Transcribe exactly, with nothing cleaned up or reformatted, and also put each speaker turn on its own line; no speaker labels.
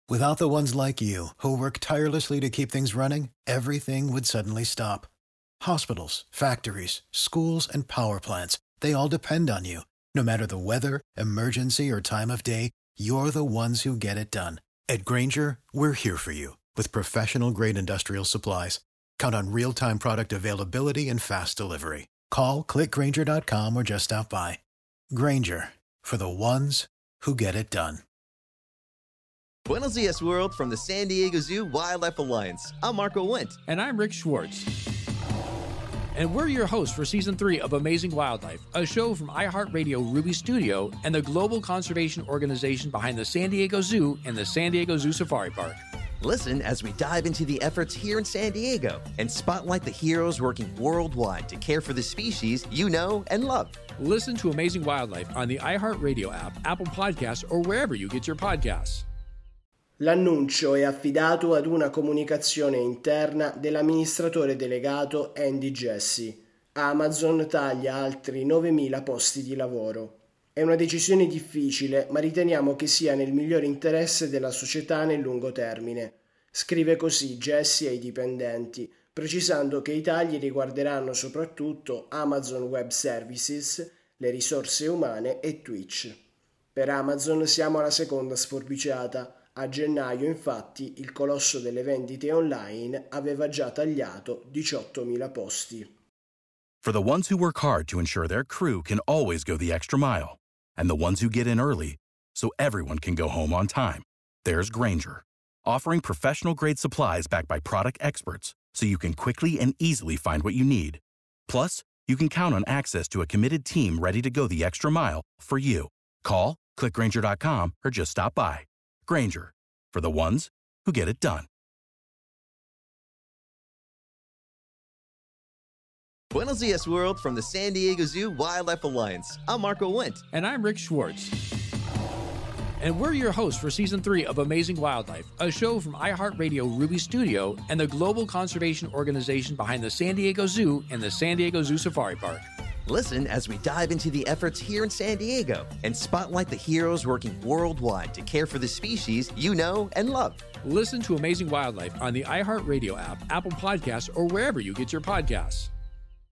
Without the ones like you, who work tirelessly to keep things running, everything would suddenly stop. Hospitals, factories, schools, and power plants, they all depend on you. No matter the weather, emergency, or time of day, you're the ones who get it done. At Grainger, we're here for you with professional-grade industrial supplies. Count on real-time product availability and fast delivery. Call, click grainger dot com, or just stop by. Grainger, for the ones who get it done.
Buenos Dias, world, from the San Diego Zoo Wildlife Alliance. I'm Marco Wendt.
And I'm Rick Schwartz. And we're your hosts for Season three of Amazing Wildlife, a show from iHeartRadio Ruby Studio and the global conservation organization behind the San Diego Zoo and the San Diego Zoo Safari Park.
Listen as we dive into the efforts here in San Diego and spotlight the heroes working worldwide to care for the species you know and love.
Listen to Amazing Wildlife on the iHeartRadio app, Apple Podcasts, or wherever you get your podcasts.
L'annuncio è affidato ad una comunicazione interna dell'amministratore delegato Andy Jassy. Amazon taglia altri novemila posti di lavoro. È una decisione difficile, ma riteniamo che sia nel migliore interesse della società nel lungo termine. Scrive così Jassy ai dipendenti, precisando che i tagli riguarderanno soprattutto Amazon Web Services, le risorse umane e Twitch. Per Amazon siamo alla seconda sforbiciata. A gennaio, infatti, il colosso delle vendite online aveva già tagliato diciottomila posti.
For the ones who work hard to ensure their crew can always go the extra mile, and the ones who get in early so everyone can go home on time, there's Grainger, offering professional-grade supplies backed by product experts so you can quickly and easily find what you need. Plus, you can count on access to a committed team ready to go the extra mile for you. Call, click grainger dot com, or just stop by. Grainger, for the ones who get it done.
Buenos Dias, world, from the San Diego Zoo Wildlife Alliance. I'm Marco Wendt.
And I'm Rick Schwartz. And we're your hosts for Season three of Amazing Wildlife, a show from iHeartRadio Ruby Studio and the global conservation organization behind the San Diego Zoo and the San Diego Zoo Safari Park.
Listen as we dive into the efforts here in San Diego and spotlight the heroes working worldwide to care for the species you know and love.
Listen to Amazing Wildlife on the iHeartRadio app, Apple Podcasts, or wherever you get your podcasts.